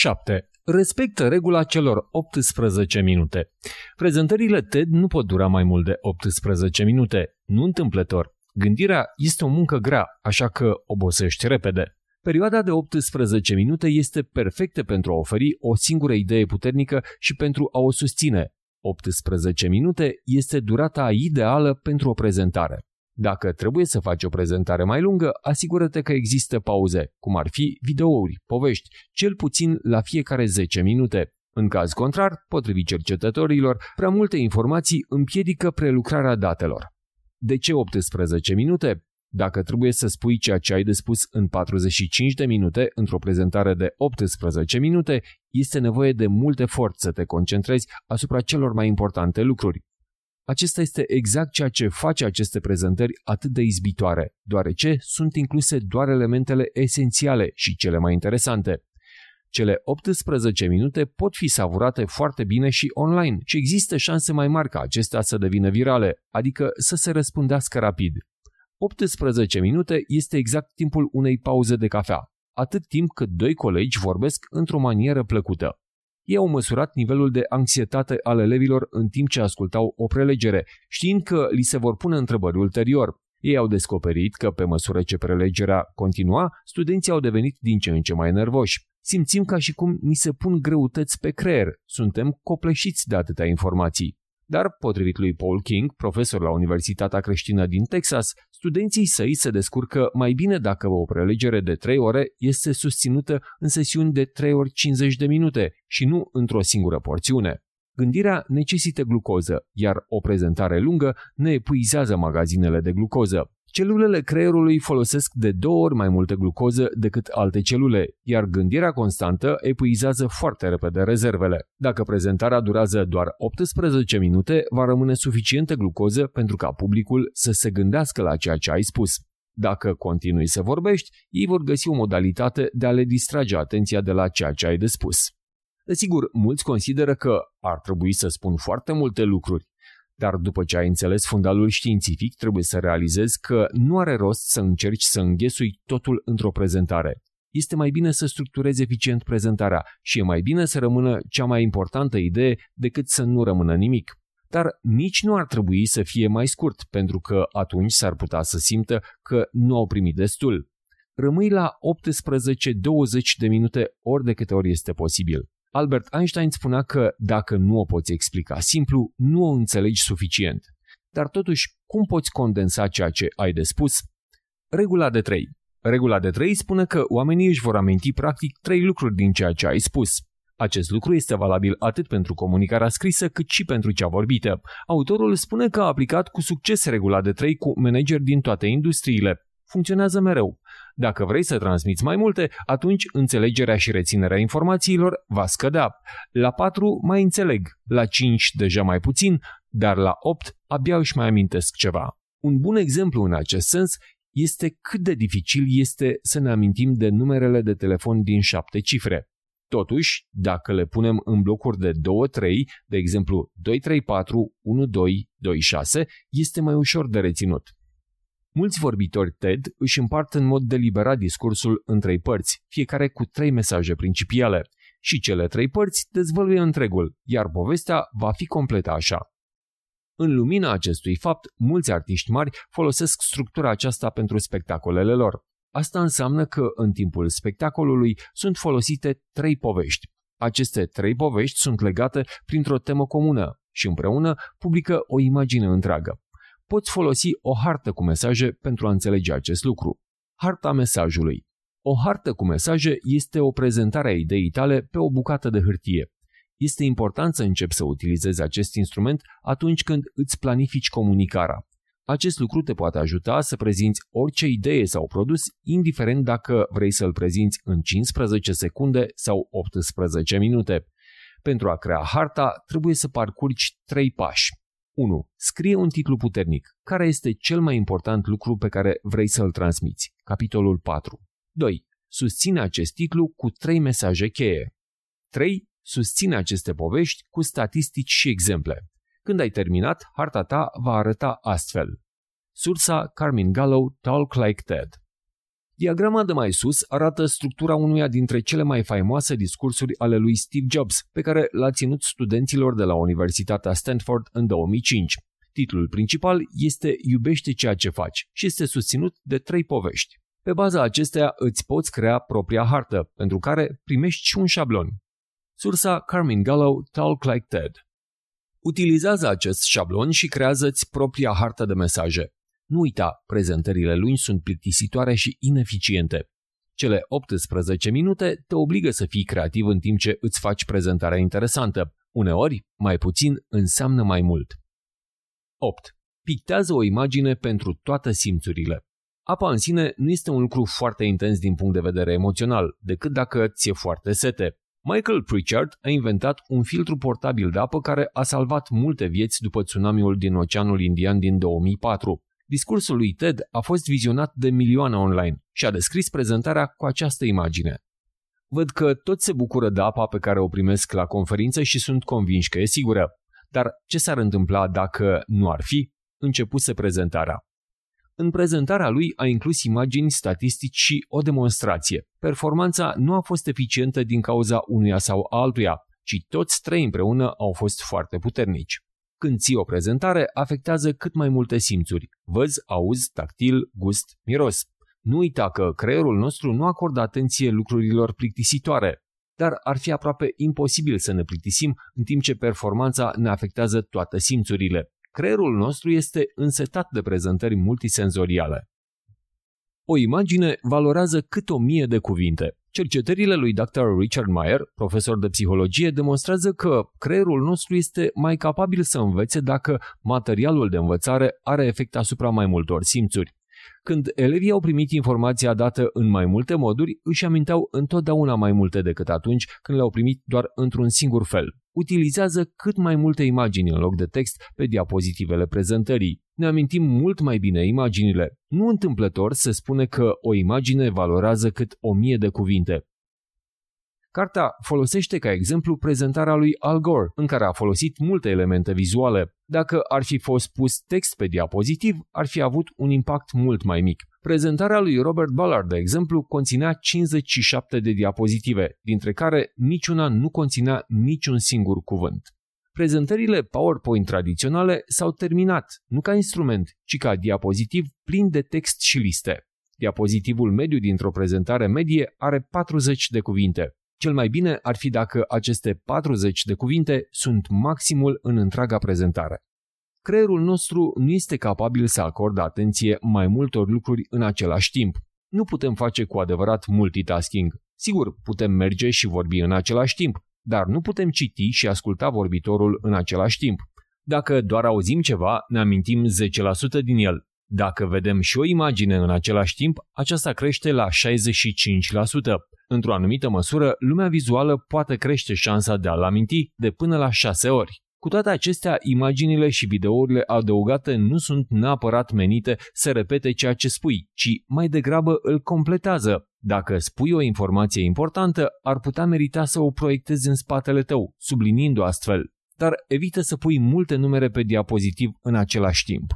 7. Respectă regula celor 18 minute. Prezentările TED nu pot dura mai mult de 18 minute, nu întâmplător. Gândirea este o muncă grea, așa că obosești repede. Perioada de 18 minute este perfectă pentru a oferi o singură idee puternică și pentru a o susține. 18 minute este durata ideală pentru o prezentare. Dacă trebuie să faci o prezentare mai lungă, asigură-te că există pauze, cum ar fi videouri, povești, cel puțin la fiecare 10 minute. În caz contrar, potrivit cercetătorilor, prea multe informații împiedică prelucrarea datelor. De ce 18 minute? Dacă trebuie să spui ceea ce ai de spus în 45 de minute într-o prezentare de 18 minute, este nevoie de mult efort să te concentrezi asupra celor mai importante lucruri. Acesta este exact ceea ce face aceste prezentări atât de izbitoare, deoarece sunt incluse doar elementele esențiale și cele mai interesante. Cele 18 minute pot fi savurate foarte bine și online și există șanse mai mari ca acestea să devină virale, adică să se răspândească rapid. 18 minute este exact timpul unei pauze de cafea, atât timp cât doi colegi vorbesc într-o manieră plăcută. Ei au măsurat nivelul de anxietate al elevilor în timp ce ascultau o prelegere, știind că li se vor pune întrebări ulterior. Ei au descoperit că, pe măsură ce prelegerea continua, studenții au devenit din ce în ce mai nervoși. Simțim ca și cum ni se pun greutăți pe creier, suntem copleșiți de atâtea informații. Dar, potrivit lui Paul King, profesor la Universitatea Creștină din Texas, studenții săi se descurcă mai bine dacă o prelegere de 3 ore este susținută în sesiuni de 3 ori 50 de minute și nu într-o singură porțiune. Gândirea necesită glucoză, iar o prezentare lungă ne epuizează magazinele de glucoză. Celulele creierului folosesc de 2 ori mai multă glucoză decât alte celule, iar gândirea constantă epuizează foarte repede rezervele. Dacă prezentarea durează doar 18 minute, va rămâne suficientă glucoză pentru ca publicul să se gândească la ceea ce ai spus. Dacă continui să vorbești, ei vor găsi o modalitate de a le distrage atenția de la ceea ce ai de spus. Desigur, mulți consideră că ar trebui să spun foarte multe lucruri. Dar după ce ai înțeles fundalul științific, trebuie să realizezi că nu are rost să încerci să înghesui totul într-o prezentare. Este mai bine să structurezi eficient prezentarea și e mai bine să rămână cea mai importantă idee decât să nu rămână nimic. Dar nici nu ar trebui să fie mai scurt, pentru că atunci s-ar putea să simtă că nu au primit destul. Rămâi la 18-20 de minute ori de câte ori este posibil. Albert Einstein spunea că dacă nu o poți explica simplu, nu o înțelegi suficient. Dar totuși, cum poți condensa ceea ce ai de spus? Regula de 3. Regula de 3 spune că oamenii își vor aminti practic 3 lucruri din ceea ce ai spus. Acest lucru este valabil atât pentru comunicarea scrisă cât și pentru cea vorbită. Autorul spune că a aplicat cu succes regula de 3 cu manageri din toate industriile. Funcționează mereu. Dacă vrei să transmiți mai multe, atunci înțelegerea și reținerea informațiilor va scădea. La 4 mai înțeleg, la 5 deja mai puțin, dar la 8 abia își mai amintesc ceva. Un bun exemplu în acest sens este cât de dificil este să ne amintim de numerele de telefon din 7 cifre. Totuși, dacă le punem în blocuri de 2-3, de exemplu 234, 1226, este mai ușor de reținut. Mulți vorbitori TED își împart în mod deliberat discursul în 3 părți, fiecare cu 3 mesaje principiale, și cele 3 părți dezvăluie întregul, iar povestea va fi completă așa. În lumina acestui fapt, mulți artiști mari folosesc structura aceasta pentru spectacolele lor. Asta înseamnă că în timpul spectacolului sunt folosite 3 povești. Aceste 3 povești sunt legate printr-o temă comună și împreună publică o imagine întreagă. Poți folosi o hartă cu mesaje pentru a înțelege acest lucru. Harta mesajului. O hartă cu mesaje este o prezentare a ideii tale pe o bucată de hârtie. Este important să începi să utilizezi acest instrument atunci când îți planifici comunicarea. Acest lucru te poate ajuta să prezinți orice idee sau produs, indiferent dacă vrei să-l prezinți în 15 secunde sau 18 minute. Pentru a crea harta, trebuie să parcurgi 3 pași. 1. Scrie un titlu puternic. Care este cel mai important lucru pe care vrei să-l transmiți? Capitolul 4. 2. Susține acest titlu cu 3 mesaje cheie. 3. Susține aceste povești cu statistici și exemple. Când ai terminat, harta ta va arăta astfel. Sursa Carmine Gallo, Talk Like TED. Diagrama de mai sus arată structura unuia dintre cele mai faimoase discursuri ale lui Steve Jobs, pe care l-a ținut studenților de la Universitatea Stanford în 2005. Titlul principal este Iubește ceea ce faci și este susținut de 3 povești. Pe baza acesteia îți poți crea propria hartă, pentru care primești și un șablon. Sursa Carmine Gallo, Talk Like TED. Utilizează acest șablon și creează-ți propria hartă de mesaje. Nu uita, prezentările lungi sunt plictisitoare și ineficiente. Cele 18 minute te obligă să fii creativ în timp ce îți faci prezentarea interesantă. Uneori, mai puțin înseamnă mai mult. 8. Pictează o imagine pentru toate simțurile. Apa în sine nu este un lucru foarte intens din punct de vedere emoțional, decât dacă ți-e foarte sete. Michael Pritchard a inventat un filtru portabil de apă care a salvat multe vieți după tsunamiul din Oceanul Indian din 2004. Discursul lui TED a fost vizionat de milioane online și a descris prezentarea cu această imagine. Văd că toți se bucură de apa pe care o primesc la conferință și sunt convinși că e sigură. Dar ce s-ar întâmpla dacă nu ar fi? Începuse prezentarea. În prezentarea lui a inclus imagini, statistici și o demonstrație. Performanța nu a fost eficientă din cauza unuia sau altuia, ci toți 3 împreună au fost foarte puternici. Când ții o prezentare, afectează cât mai multe simțuri. Văz, auz, tactil, gust, miros. Nu uita că creierul nostru nu acordă atenție lucrurilor plictisitoare, dar ar fi aproape imposibil să ne plictisim în timp ce performanța ne afectează toate simțurile. Creierul nostru este însetat de prezentări multisenzoriale. O imagine valorează cât 1000 de cuvinte. Cercetările lui Dr. Richard Meyer, profesor de psihologie, demonstrează că creierul nostru este mai capabil să învețe dacă materialul de învățare are efect asupra mai multor simțuri. Când elevii au primit informația dată în mai multe moduri, își aminteau întotdeauna mai multe decât atunci când le-au primit doar într-un singur fel. Utilizează cât mai multe imagini în loc de text pe diapozitivele prezentării. Ne amintim mult mai bine imaginile. Nu întâmplător se spune că o imagine valorează cât 1000 de cuvinte. Cartea folosește ca exemplu prezentarea lui Al Gore, în care a folosit multe elemente vizuale. Dacă ar fi fost pus text pe diapozitiv, ar fi avut un impact mult mai mic. Prezentarea lui Robert Ballard, de exemplu, conținea 57 de diapozitive, dintre care niciuna nu conținea niciun singur cuvânt. Prezentările PowerPoint tradiționale s-au terminat, nu ca instrument, ci ca diapozitiv plin de text și liste. Diapozitivul mediu dintr-o prezentare medie are 40 de cuvinte. Cel mai bine ar fi dacă aceste 40 de cuvinte sunt maximul în întreaga prezentare. Creierul nostru nu este capabil să acorde atenție mai multor lucruri în același timp. Nu putem face cu adevărat multitasking. Sigur, putem merge și vorbi în același timp, dar nu putem citi și asculta vorbitorul în același timp. Dacă doar auzim ceva, ne amintim 10% din el. Dacă vedem și o imagine în același timp, aceasta crește la 65%. Într-o anumită măsură, lumea vizuală poate crește șansa de a-l aminti de până la 6 ori. Cu toate acestea, imaginile și videourile adăugate nu sunt neapărat menite să repete ceea ce spui, ci mai degrabă îl completează. Dacă spui o informație importantă, ar putea merita să o proiectezi în spatele tău, subliniind-o astfel, dar evită să pui multe numere pe diapozitiv în același timp.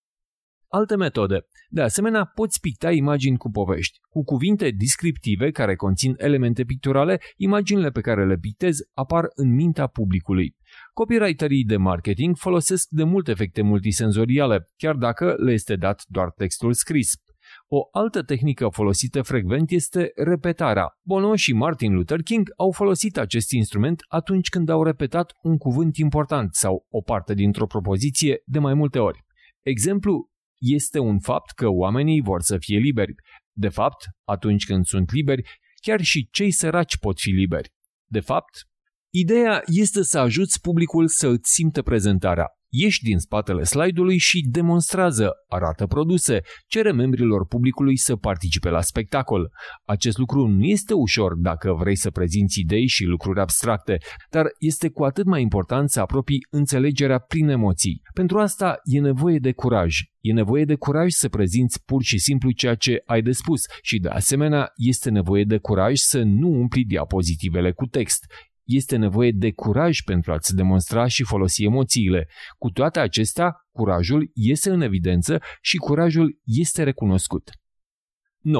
Alte metode. De asemenea, poți picta imagini cu povești. Cu cuvinte descriptive care conțin elemente picturale, imaginile pe care le pictezi apar în mintea publicului. Copywriterii de marketing folosesc de mult efecte multisenzoriale, chiar dacă le este dat doar textul scris. O altă tehnică folosită frecvent este repetarea. Bono și Martin Luther King au folosit acest instrument atunci când au repetat un cuvânt important sau o parte dintr-o propoziție de mai multe ori. Exemplu este un fapt că oamenii vor să fie liberi. De fapt, atunci când sunt liberi, chiar și cei săraci pot fi liberi. De fapt, ideea este să ajuți publicul să îți simtă prezentarea. Ieși din spatele slide-ului și demonstrează, arată produse, cere membrilor publicului să participe la spectacol. Acest lucru nu este ușor dacă vrei să prezinți idei și lucruri abstracte, dar este cu atât mai important să apropii înțelegerea prin emoții. Pentru asta e nevoie de curaj. E nevoie de curaj să prezinți pur și simplu ceea ce ai de spus și, de asemenea, este nevoie de curaj să nu umpli diapozitivele cu text. Este nevoie de curaj pentru a-ți demonstra și folosi emoțiile. Cu toate acestea, curajul iese în evidență și curajul este recunoscut. 9.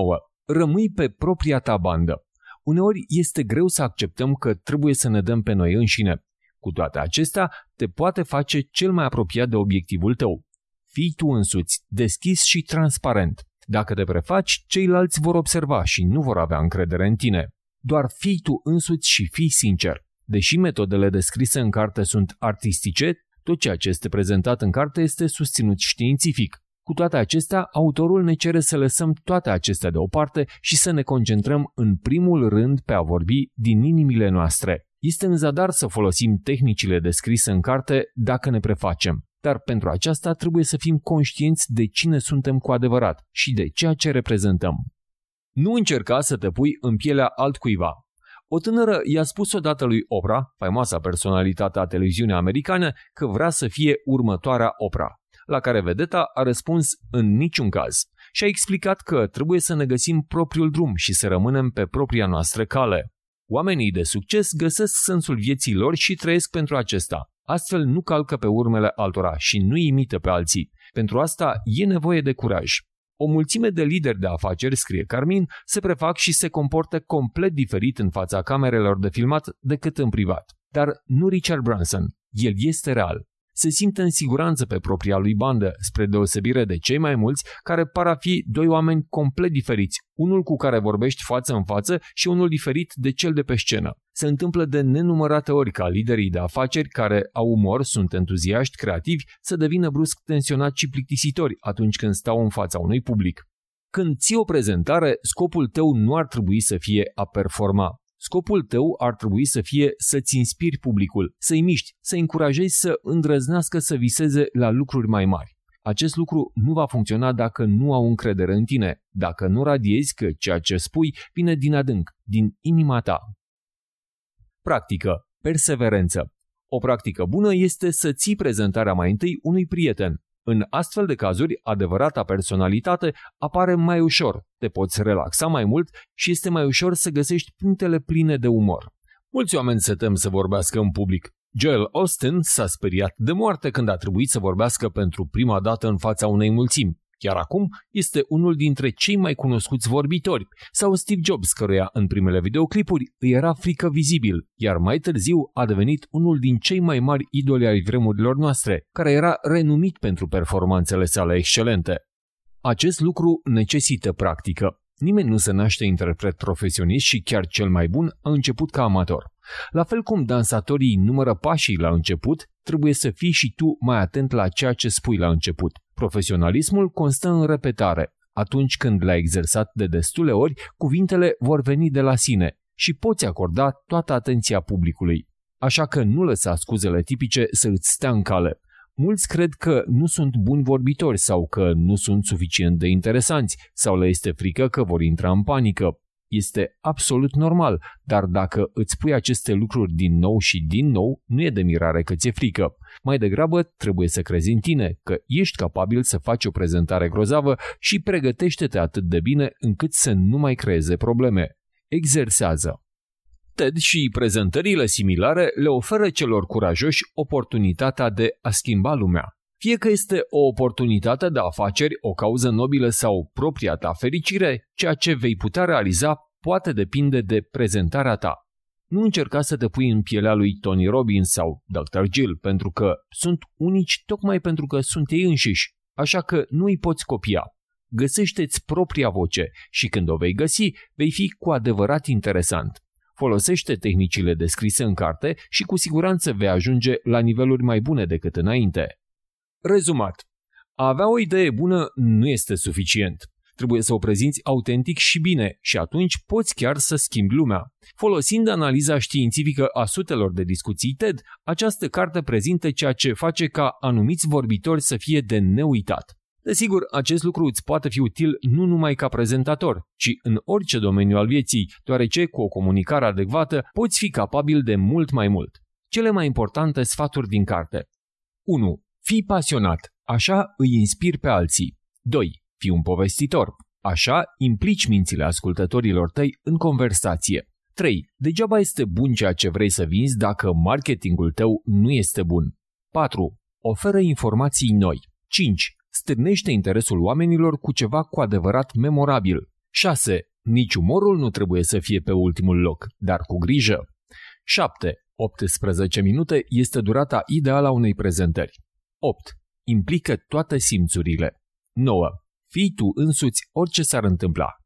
Rămâi pe propria ta bandă. Uneori este greu să acceptăm că trebuie să ne dăm pe noi înșine. Cu toate acestea, te poate face cel mai apropiat de obiectivul tău. Fii tu însuți, deschis și transparent. Dacă te prefaci, ceilalți vor observa și nu vor avea încredere în tine. Doar fii tu însuți și fii sincer. Deși metodele descrise în carte sunt artistice, tot ceea ce este prezentat în carte este susținut științific. Cu toate acestea, autorul ne cere să lăsăm toate acestea deoparte și să ne concentrăm în primul rând pe a vorbi din inimile noastre. Este în zadar să folosim tehnicile descrise în carte dacă ne prefacem, dar pentru aceasta trebuie să fim conștienți de cine suntem cu adevărat și de ceea ce reprezentăm. Nu încerca să te pui în pielea altcuiva. O tânără i-a spus odată lui Oprah, faimoasa personalitate a televiziunii americane, că vrea să fie următoarea Oprah, la care vedeta a răspuns în niciun caz și a explicat că trebuie să ne găsim propriul drum și să rămânem pe propria noastră cale. Oamenii de succes găsesc sensul vieții lor și trăiesc pentru acesta. Astfel nu calcă pe urmele altora și nu imită pe alții. Pentru asta e nevoie de curaj. O mulțime de lideri de afaceri, scrie Carmin, se prefac și se comportă complet diferit în fața camerelor de filmat decât în privat. Dar nu Richard Branson. El este real. Se simte în siguranță pe propria lui bandă, spre deosebire de cei mai mulți care par a fi doi oameni complet diferiți, unul cu care vorbești față în față și unul diferit de cel de pe scenă. Se întâmplă de nenumărate ori ca liderii de afaceri care au umor, sunt entuziaști, creativi, să devină brusc tensionați și plictisitori atunci când stau în fața unui public. Când ții o prezentare, scopul tău nu ar trebui să fie a performa. Scopul tău ar trebui să fie să-ți inspiri publicul, să-i miști, să-i încurajezi să îndrăznească să viseze la lucruri mai mari. Acest lucru nu va funcționa dacă nu au încredere în tine, dacă nu radiezi că ceea ce spui vine din adânc, din inima ta. Practică. Perseverență. O practică bună este să ții prezentarea mai întâi unui prieten. În astfel de cazuri, adevărata personalitate apare mai ușor, te poți relaxa mai mult și este mai ușor să găsești punctele pline de umor. Mulți oameni se tem să vorbească în public. Joel Austin s-a speriat de moarte când a trebuit să vorbească pentru prima dată în fața unei mulțimi. Chiar acum este unul dintre cei mai cunoscuți vorbitori, sau Steve Jobs, căruia în primele videoclipuri îi era frică vizibil, iar mai târziu a devenit unul din cei mai mari idoli ai vremurilor noastre, care era renumit pentru performanțele sale excelente. Acest lucru necesită practică. Nimeni nu se naște interpret profesionist și chiar cel mai bun a început ca amator. La fel cum dansatorii numără pașii la început, trebuie să fii și tu mai atent la ceea ce spui la început. Profesionalismul constă în repetare. Atunci când l-ai exersat de destule ori, cuvintele vor veni de la sine și poți acorda toată atenția publicului. Așa că nu lăsa scuzele tipice să îți stea în cale. Mulți cred că nu sunt buni vorbitori sau că nu sunt suficient de interesanți sau le este frică că vor intra în panică. Este absolut normal, dar dacă îți pui aceste lucruri din nou și din nou, nu e de mirare că ți-e frică. Mai degrabă trebuie să crezi în tine, că ești capabil să faci o prezentare grozavă și pregătește-te atât de bine încât să nu mai creeze probleme. Exersează. TED și prezentările similare le oferă celor curajoși oportunitatea de a schimba lumea. Fie că este o oportunitate de afaceri, o cauză nobilă sau propria ta fericire, ceea ce vei putea realiza poate depinde de prezentarea ta. Nu încerca să te pui în pielea lui Tony Robbins sau Dr. Jill, pentru că sunt unici tocmai pentru că sunt ei înșiși, așa că nu îi poți copia. Găsește-ți propria voce și când o vei găsi, vei fi cu adevărat interesant. Folosește tehnicile descrise în carte și cu siguranță vei ajunge la niveluri mai bune decât înainte. Rezumat. A avea o idee bună nu este suficient. Trebuie să o prezinți autentic și bine și atunci poți chiar să schimbi lumea. Folosind analiza științifică a sutelor de discuții TED, această carte prezintă ceea ce face ca anumiți vorbitori să fie de neuitat. Desigur, acest lucru îți poate fi util nu numai ca prezentator, ci în orice domeniu al vieții, deoarece cu o comunicare adecvată poți fi capabil de mult mai mult. Cele mai importante sfaturi din carte. 1. Fii pasionat, așa îi inspiri pe alții. 2. Fii un povestitor, așa implici mințile ascultătorilor tăi în conversație. 3. Degeaba este bun ceea ce vrei să vinzi dacă marketingul tău nu este bun. 4. Oferă informații noi. 5. Stârnește interesul oamenilor cu ceva cu adevărat memorabil. 6. Nici umorul nu trebuie să fie pe ultimul loc, dar cu grijă. 7. 18 minute este durata ideală a unei prezentări. 8. Implică toate simțurile. 9. Fii tu însuți orice s-ar întâmpla.